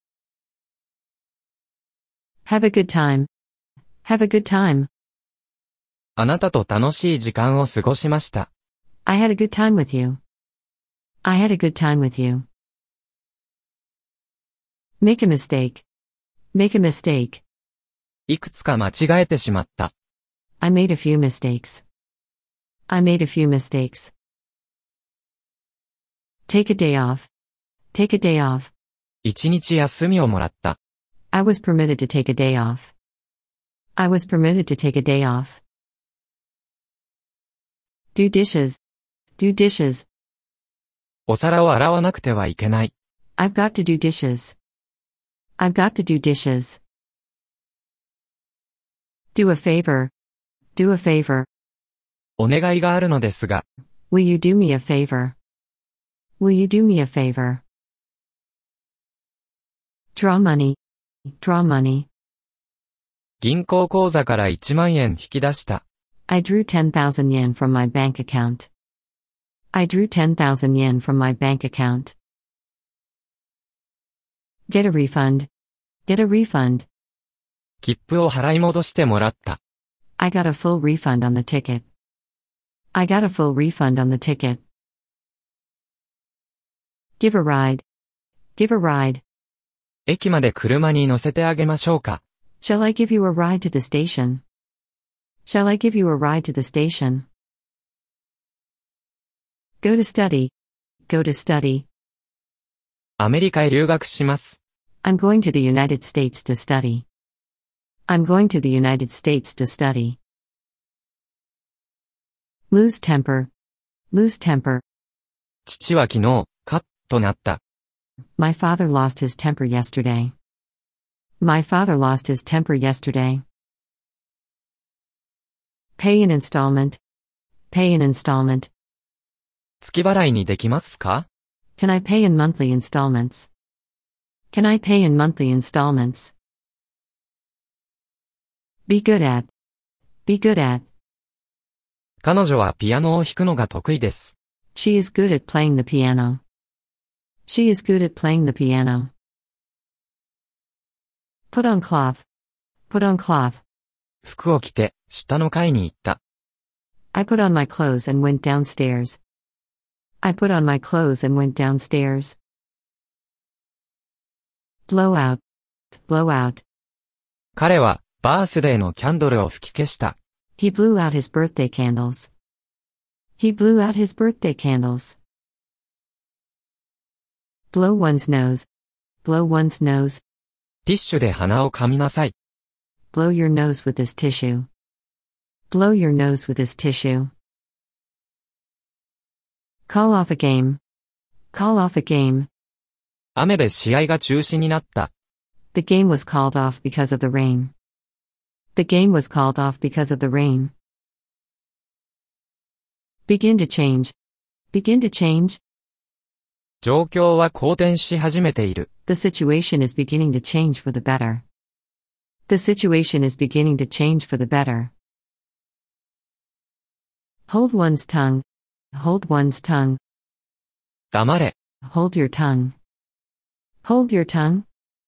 Have a good time. Have a good time. あなたと楽しい時間を過ごしました。 I had a good time with you. I had a good time with you. Make a mistake. Make a mistake. いくつか間違えてしまった。 I made a few mistakes. I made a few mistakes. Take a day off. Take a day off. 一日休みをもらった。 I was permitted to take a day off. I was permitted to take a day off. Do dishes. Do dishes. お皿を洗わなくてはいけない。 I've got to do dishes. I've got to do dishes. Do a favor. Do a favor. お願いがあるのですが。 Will you do me a favor? Will you do me a favor? Draw money. Draw money. 銀行口座からいちまんえん引き出した。 I drew ten thousand yen from my bank account. I drew ten thousand yen from my bank account. Get a refund. Get a refund. 切符を払い戻してもらった。 I got a full refund on the ticket. I got a full refund on the ticket. Give a ride. Give a ride. 駅まで車に乗せてあげましょうか。 Shall I give you a ride to the station? Shall I give you a ride to the station? Go to study. Go to study. アメリカへ留学します。 I'm going to the United States to study. I'm going to the United States to study. Lose temper. Lose temper. 父は昨日、カッとなった。 My father lost his temper yesterday. My father lost his temper yesterday. Pay an installment. Pay an installment. 月払いにできますか？ Can I pay in monthly installments? Can I pay in monthly installments? Be good at. Be good at. 彼女はピアノを弾くのが得意です。 She is good at playing the piano. She is good at playing the piano. Put on cloth. Put on cloth. 服を着て、下の階に行った。 I put on my clothes and went downstairs. I put on my clothes and went downstairs. Blow out. Blow out. 彼は、バースデーのキャンドルを吹き消した。 He blew out his birthday candles. He blew out his birthday candles. Blow one's nose. Blow one's nose. ティッシュで鼻を噛みなさい。 Blow your nose with this tissue. Blow your nose with this tissue. Call off a game. Call off a game. 雨で試合が中止になった。 The game was called off because of the rain. The game was called off because of the rain. Begin to change. Begin to change. 状況は好転し始めている。 The situation is beginning to change for the better. The situation is beginning to change for the better. Hold one's tongue. Hold one's tongue. 黙れ。 Hold your tongue. Hold your tongue.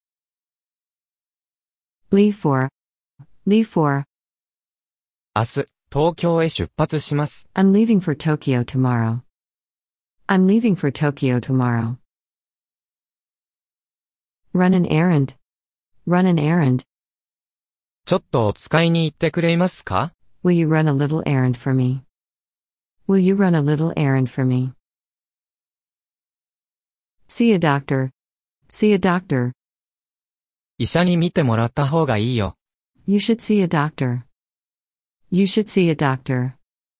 Leave for. Leave for. 明日、東京へ出発します。 I'm leaving for Tokyo tomorrow. I'm leaving for Tokyo tomorrow. Run an errand. Run an errand. ちょっとお使いに行ってくれますか？ Will you run a little errand for me? Will you run a little errand for me? See a doctor. See a doctor. 医者に見てもらった方がいいよ。 You should see a doctor. You should see a doctor.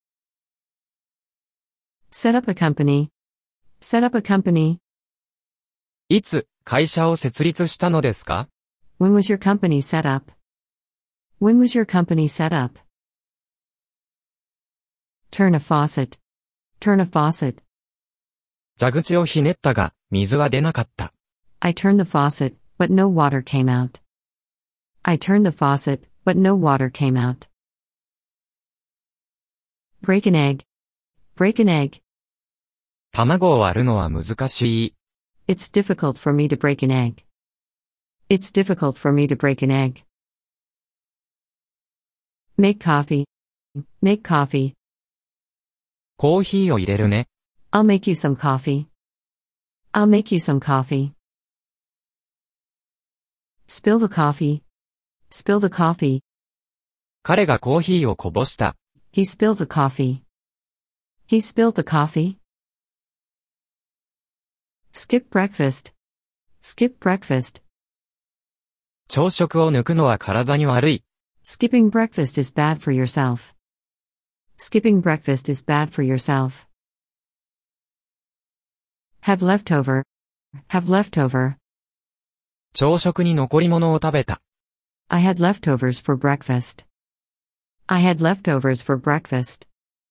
Set up a company. Set up a company. いつ、会社を設立したのですか？ When was your company set up? When was your company set up? Turn a faucet. Turn a faucet. 蛇口をひねったが、水は出なかった。 I turned the faucet, but no water came out. I turned the faucet, but no water came out. Break an egg. Break an egg. 卵を割るのは難しい。 It's difficult for me to break an egg. It's difficult for me to break an egg. Make coffee. Make coffee. コーヒーを入れるね。 I'll make you some coffee. I'll make you some coffee. Spill the coffee. Spill the coffee. 彼がコーヒーをこぼした。 He spilled the coffee. He spilled the coffee. Skip breakfast. Skip breakfast. 朝食を抜くのは体に悪い。 Skipping breakfast is bad for yourself. Skipping breakfast is bad for yourself. Have leftover. Have leftover. 朝食に残り物を食べた。 I had leftovers for breakfast. I had leftovers for breakfast.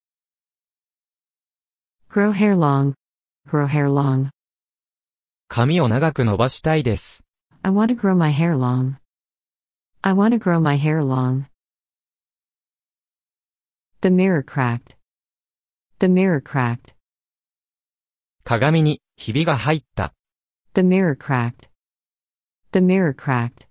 Grow hair long. Grow hair long. 髪を長く伸ばしたいです。 I want to grow my hair long. I want to grow my hair long. The mirror cracked. The mirror cracked. 鏡にひびが入った。 The mirror cracked. The mirror cracked.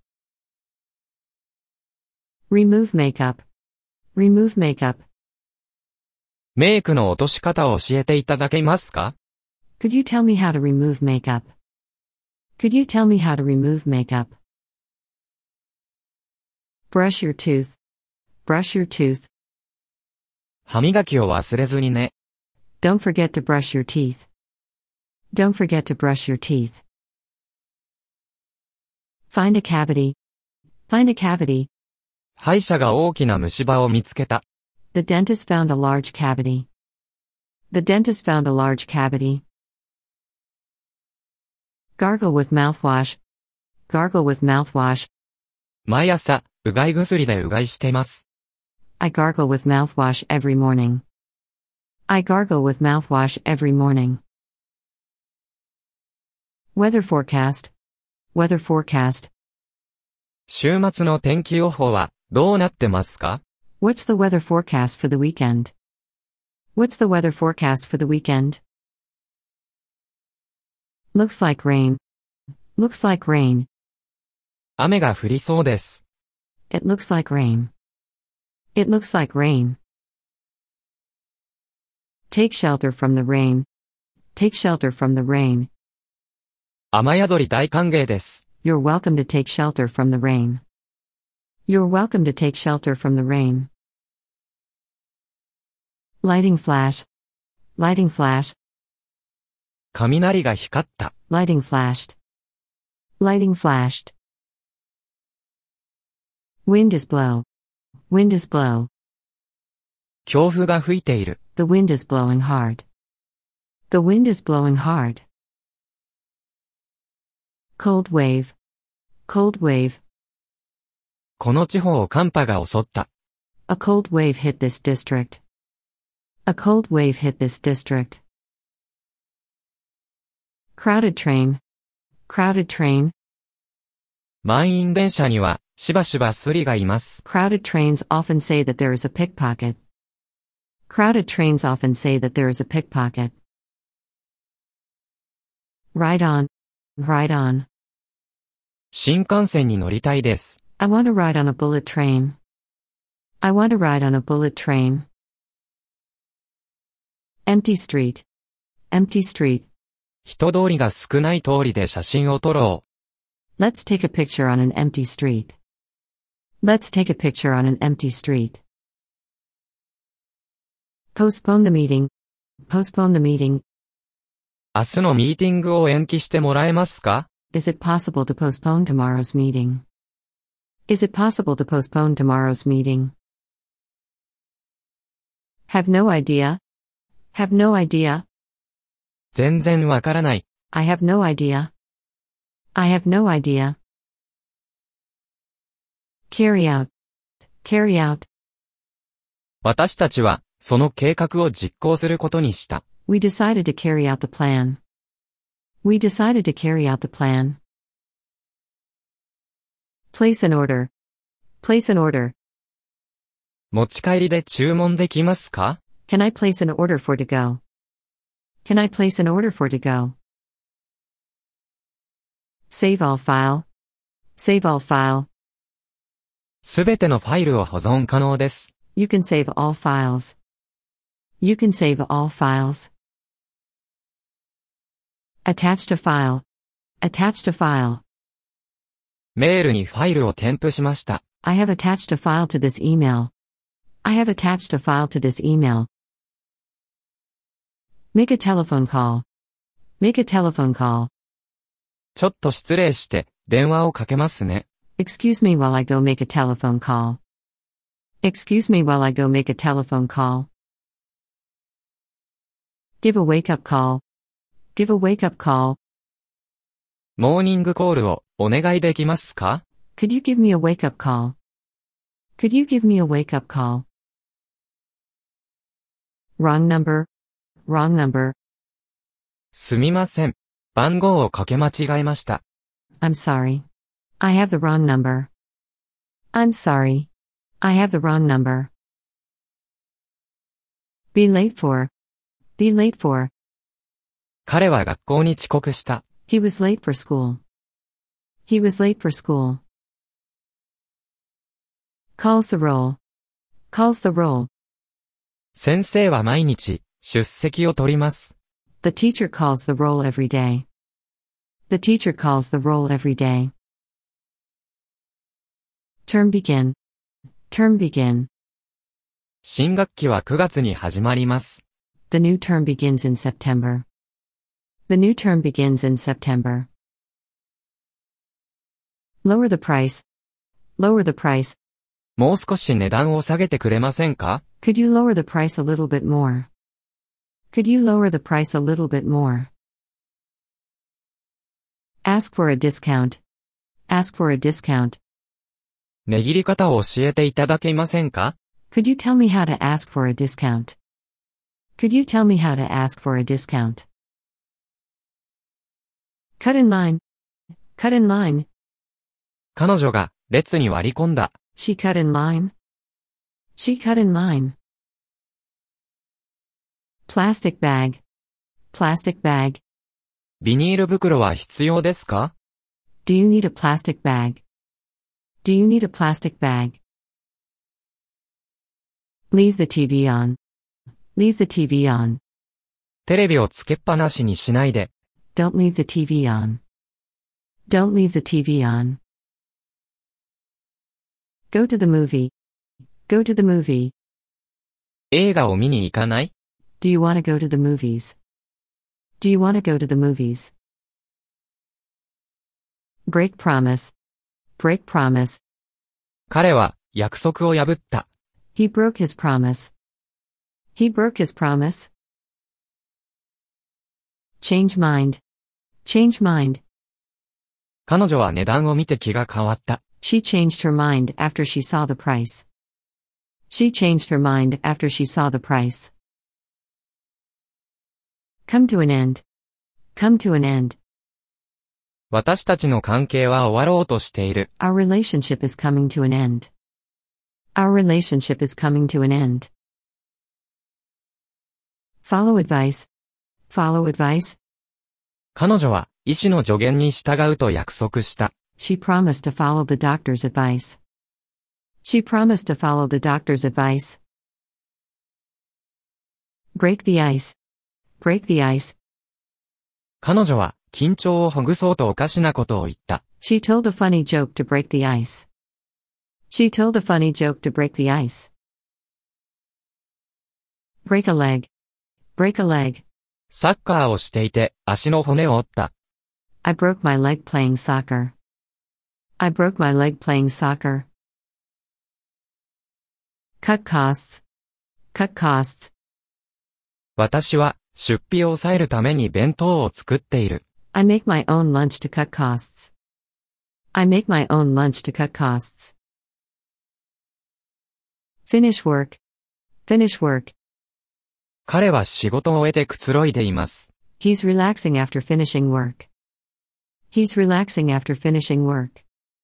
Remove makeup. Remove makeup. メイクの落とし方を教えていただけますか? Could you tell me how to remove makeup? Could you tell me how to remove makeup? Brush your tooth. Brush your tooth. 歯磨きを忘れずにね。 Don't forget to brush your teeth. Don't forget to brush your teeth. Find a cavity. Find a cavity. 歯医者が大きな虫歯を見つけた。 The dentist found a large cavity. The dentist found a large cavity. Gargle with mouthwash. Gargle with mouthwash. 毎朝、うがい薬でうがいしてます。 I gargle with mouthwash every morning. I gargle with mouthwash every morning. Weather forecast. Weather forecast. 週末の天気予報はどうなってますか? What's the weather forecast for the weekend? What's the weather forecast for the weekend? Looks like rain. Looks like rain. 雨が降りそうです。 It looks like rain. It looks like rain. Take shelter from the rain. Take shelter from the rain. 雨宿り大歓迎です。 You're welcome to take shelter from the rain. You're welcome to take shelter from the rain. Lighting flash. Lighting flash. 雷が光った。 Lighting flashed. Lighting flashed. Wind is blow. Wind is blow. 強風が吹いている。 The wind is blowing hard. The wind is blowing hard. Cold wave. Cold wave. この地方を寒波が襲った。 A cold wave hit this district. A cold wave hit this district. Crowded train. Crowded train. 満員電車にはしばしばスリがいます。 Crowded trains often say that there is a pickpocket. Crowded trains often say that there is a pickpocket. Ride on. Ride on. 新幹線に乗りたいです。 I want to ride on a bullet train. I want to ride on a bullet train. Empty street. Empty street. 人通りが少ない通りで写真を撮ろう。 Let's take a picture on an empty street. Let's take a picture on an empty street. Postpone the meeting. Postpone the meeting. 明日のミーティングを延期してもらえますか? Is it possible to postpone tomorrow's meeting? Is it possible to postpone tomorrow's meeting? Have no idea. Have no idea. 全然わからない。 I have no idea. I have no idea. Carry out. Carry out. 私たちはその計画を実行することにした。 We decided to carry out the plan. We decided to carry out the plan. Place an order. Place an order. 持ち帰りで注文できますか？ Can I place an order for to go? Can I place an order for to go? Save all file. Save all file. すべてのファイルを保存可能です。 You can save all files. You can save all files. Attached a file. Attached a file. メールにファイルを添付しました。 I have attached a file to this email. I have attached a file to this email. Make a telephone call. Make a telephone call. ちょっと失礼して、電話をかけますね。 Excuse me while I go make a telephone call. Excuse me while I go make a telephone call. Give a wake-up call. Give a wake-up call. モーニングコールをお願いできますか？ Could you give me a wake-up call? Could you give me a wake-up call? Wrong number. Wrong number. すみません。番号をかけ間違えました。 I'm sorry. I have the wrong number. I'm sorry. I have the wrong number. Be late for. Be late for. 彼は学校に遅刻した。 He was late for school. He was late for school. Calls the roll. Calls the roll. 先生は毎日出席を取ります。 The teacher calls the roll every day. The teacher calls the roll every day. Term begin. Term begin. 新学期はくがつに始まります。 The new term begins in September. The new term begins in September. Lower the price. Lower the price. もう少し値段を下げてくれませんか？ Could you lower the price a little bit more? Could you lower the price a little bit more? Ask for a discount. Ask for a discount. 値切り方を教えていただけませんか？ Could you tell me how to ask for a discount? Could you tell me how to ask for a discount? Cut in line. Cut in line. 彼女が列に割り込んだ。 She cut in line. She cut in line. Plastic bag. Plastic bag. ビニール袋は必要ですか？ Do you need a plastic bag? Do you need a plastic bag? Leave the T V on. Leave the T V on. テレビをつけっぱなしにしないで。 Don't leave the T V on. Don't leave the T V on. Go to the movie. Go to the movie. 映画を見に行かない？ Do you want to go to the movies? Do you want to go to the movies? Break promise. Break promise. 彼は約束を破った。 He broke his promise. He broke his promise. Change mind. Change mind. 彼女は値段を見て気が変わった。 She changed her mind after she saw the price. She changed her mind after she saw the price. Come to an end. Come to an end. 私たちの関係は終わろうとしている。 Our relationship is coming to an end. Our relationship is coming to an end. Follow advice. Follow advice. 彼女は医師の助言に従うと約束した。 She promised to follow the doctor's advice. She promised to follow the doctor's advice. Break the ice. Break the ice. 彼女は緊張をほぐそうとおかしなことを言った。 She told a funny joke to break the ice. She told a funny joke to break the ice. Break a leg. Break a leg. サッカーをしていて足の骨を折った。 I broke my leg playing soccer. I broke my leg playing soccer. Cut costs. Cut costs. 私は出費を抑えるために弁当を作っている。 I make my own lunch to cut costs. I make my own lunch to cut costs. Finish work. Finish work. 彼は仕事を終えてくつろいでいます。 He's relaxing after finishing work. He's relaxing after finishing work.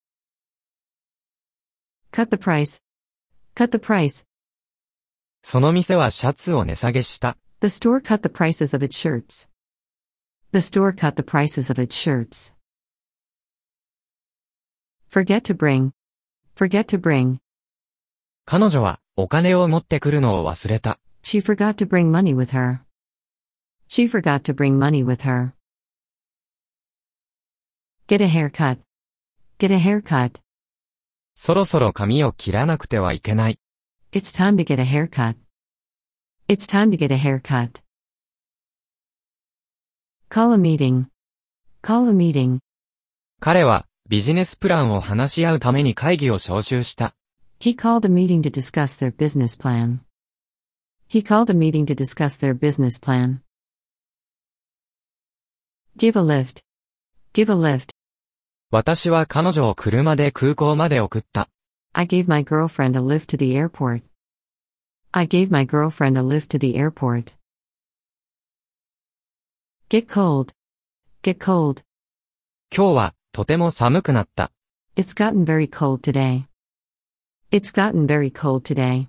Cut the price. Cut the price. その店はシャツを値下げした。 The store cut the prices of its shirts. The store cut the prices of its shirts. Forget to bring. Forget to bring. 彼女はお金を持ってくるのを忘れた。 She forgot to bring money with her. She forgot to bring money with her. Get a haircut. Get a haircut. そろそろ髪を切らなくてはいけない。 It's time to get a haircut. It's time to get a haircut. Call a meeting. Call a meeting. 彼はビジネスプランを話し合うために会議を招集した。 He called a meeting to discuss their business plan. He called a meeting to discuss their business plan. Give a lift. Give a lift. 私は彼女を車で空港まで送った。 I gave my girlfriend a lift to the airport. I gave my girlfriend a lift to the airport. Get cold. Get cold. 今日はとても寒くなった。 It's gotten very cold today. It's gotten very cold today.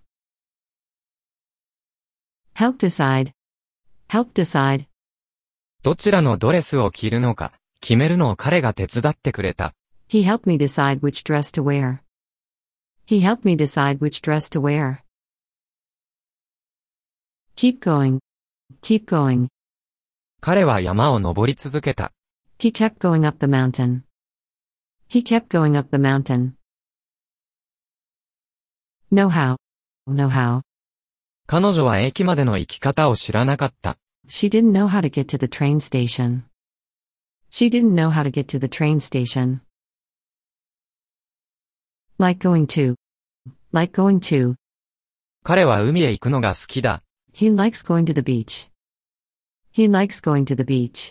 Help decide. Help decide. どちらのドレスを着るのか決めるのを彼が手伝ってくれた。 He helped me decide which dress to wear. He helped me decide which dress to wear. Keep going. Keep going. 彼は山を登り続けた。 He kept going up the mountain. He kept going up the mountain. Know how. Know how. 彼女は駅までの行き方を知らなかった。 She didn't know how to get to the train station. She didn't know how to get to the train station. Like going to. Like going to. 彼は海へ行くのが好きだ。 He likes going to the beach. He likes going to the beach.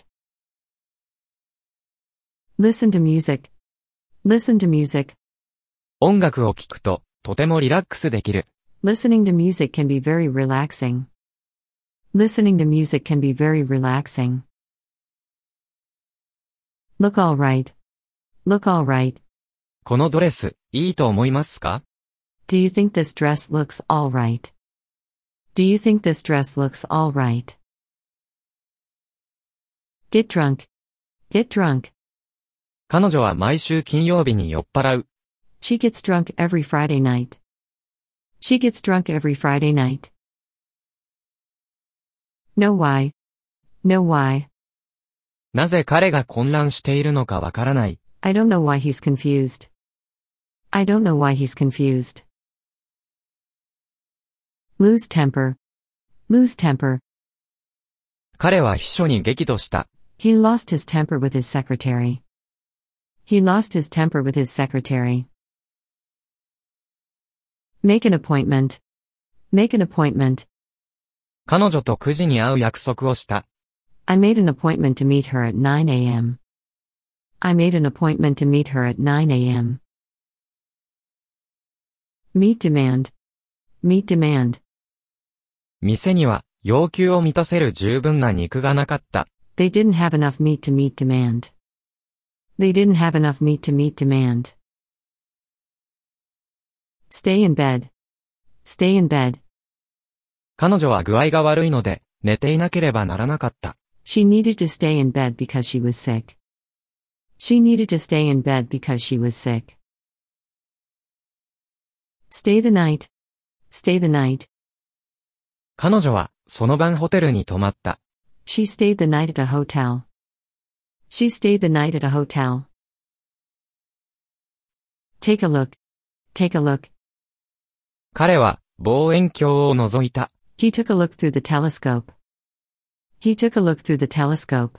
Listen to music. Listen to music. 音楽を聴くととてもリラックスできる。 Listening to music can be very relaxing. Listening to music can be very relaxing. Look all right. Look all right. このドレス、いいと思いますか？ Do you think this dress looks all right? Do you think this dress looks all right? Get drunk. Get drunk. 彼女は毎週金曜日に酔っ払う。 She gets drunk every Friday night. She gets drunk every Friday night. Know why. Know why. なぜ彼が混乱しているのかわからない。 I don't know why he's confused. I don't know why he's confused. Lose temper. Lose temper. 彼は秘書に激怒した。 He lost his temper with his secretary. He lost his temper with his secretary. Make an appointment. Make an appointment. 彼女とくじに会う約束をした。 I made an appointment to meet her at nine a.m. I made an appointment to meet her at nine a.m. Meet demand. Meet demand. 店には要求を満たせる十分な肉がなかった。 They didn't have enough meat to meet demand. They didn't have enough meat to meet demand. Stay in bed. Stay in bed. 彼女は具合が悪いので寝ていなければならなかった。 She needed to stay in bed because she was sick. She needed to stay in bed because she was sick. Stay the night. Stay the night. 彼女はその晩ホテルに泊まった。 She stayed the night at a hotel. She stayed the night at a hotel. Take a look. Take a look. 彼は望遠鏡を覗いた。 He took a look through the telescope. He took a look through the telescope.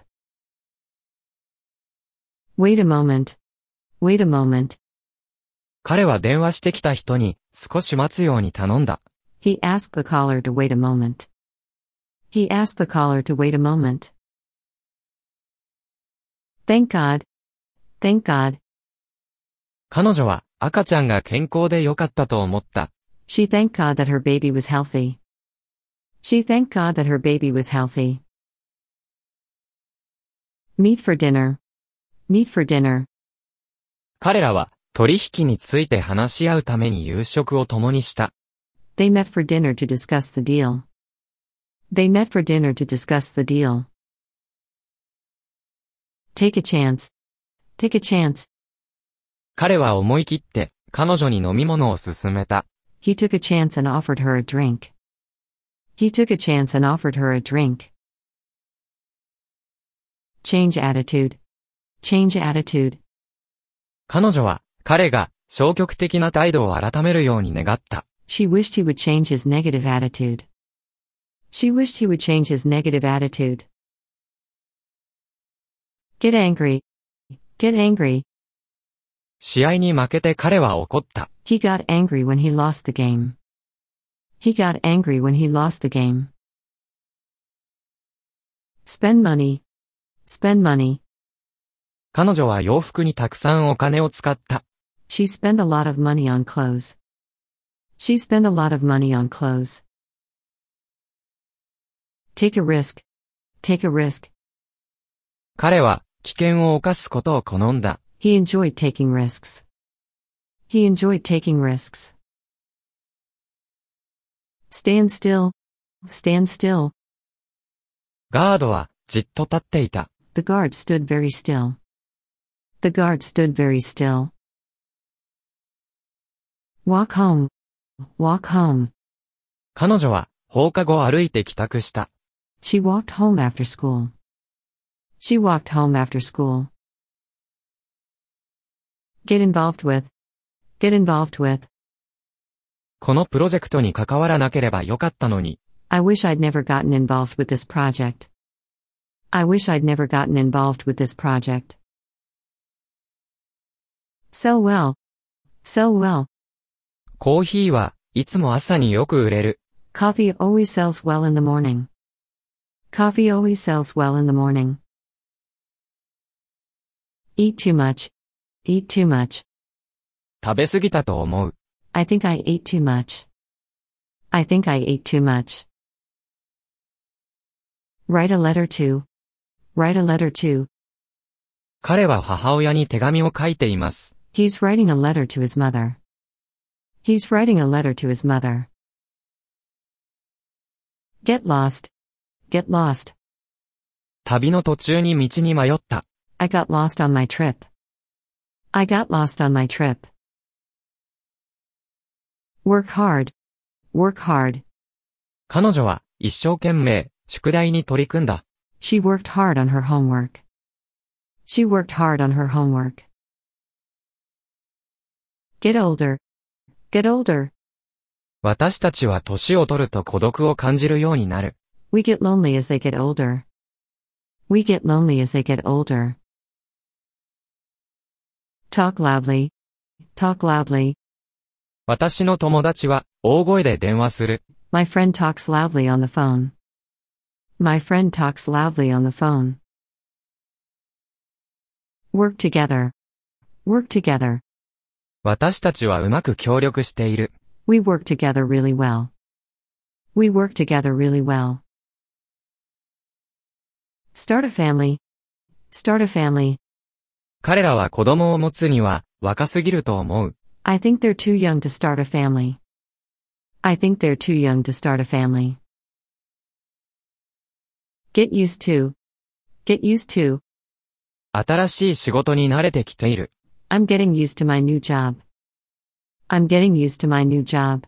Wait a moment. Wait a moment. 彼は電話してきた人に少し待つように頼んだ。 He asked the caller to wait a moment. He asked the caller to wait a moment. Thank God. Thank God. 彼女は赤ちゃんが健康でよかったと思った。 She thanked God that her baby was healthy. She thanked God that her baby was healthy. Meet for dinner. Meet for dinner. 彼らは取引について話し合うために夕食を共にした。 They met for dinner to discuss the deal. They met for dinner to discuss the deal. Take a chance. Take a chance. 彼は思い切って彼女に飲み物を勧めた。 He took a chance and offered her a drink. He took a chance and offered her a drink. Change attitude. Change attitude. 彼女は彼が消極的な態度を改めるように願った。 She wished he would change his negative attitude. She wished he would change his negative attitude. Get angry. Get angry. 試合に負けて彼は怒った。 He got angry when he lost the game. He got angry when he lost the game. Spend money. Spend money. 彼女は洋服にたくさんお金を使った。 She spent a lot of money on clothes. She spent a lot of money on clothes. Take a risk. Take a risk. 彼は危険を冒すことを好んだ。 He enjoyed taking risks. He enjoyed taking risks. Stand still. Stand still. ガードはじっと立っていた。 The guard stood very still. The guard stood very still. Walk home. Walk home. 彼女は放課後歩いて帰宅した。 She walked home after school. She walked home after school. Get involved with. Get involved with. このプロジェクトに関わらなければよかったのに。 I wish I'd never gotten involved with this project. I wish I'd never gotten involved with this project. Sell well. Sell well. コーヒーはいつも朝によく売れる。 Coffee always sells well in the morning. Coffee always sells well in the morning. Eat too much. Eat too much. 食べ過ぎたと思う。 I think I ate too much. I think I ate too much. Write a letter to. Write a letter to. 彼は母親に手紙を書いています。 He's writing a letter to his mother. He's writing a letter to his mother. Get lost. Get lost. 旅の途中に道に迷った。 I got lost on my trip. I got lost on my trip. Work hard. Work hard. 彼女は一生懸命宿題に取り組んだ。 She worked hard on her homework. She worked hard on her homework. Get older. Get older. 私たちは年を取ると孤独を感じるようになる。 We get lonely as they get older. We get lonely as they get older. Talk loudly. Talk loudly. 私の友達は大声で電話する。 My friend talks loudly on the phone. My friend talks loudly on the phone. Work together. Work together. 私たちはうまく協力している。 We work together really well. We work together really well. Start a family. Start a family. 彼らは子供を持つには若すぎると思う。 I think they're too young to start a family. I think they're too young to start a family. Get used to. Get used to. 新しい仕事に慣れてきている。 I'm getting used to my new job. I'm getting used to my new job.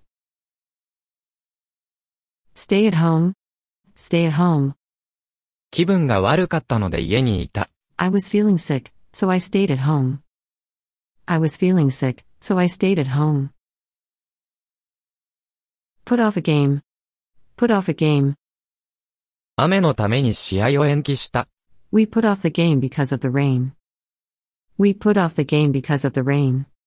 Stay at home. Stay at home. 気分が悪かったので家にいた。 I was feeling sick, so I stayed at home. I was feeling sick, so I stayed at home. Put off a game. Put off a game. 雨のために試合を延期した。 We put off the game because of the rain. We put off the game because of the rain.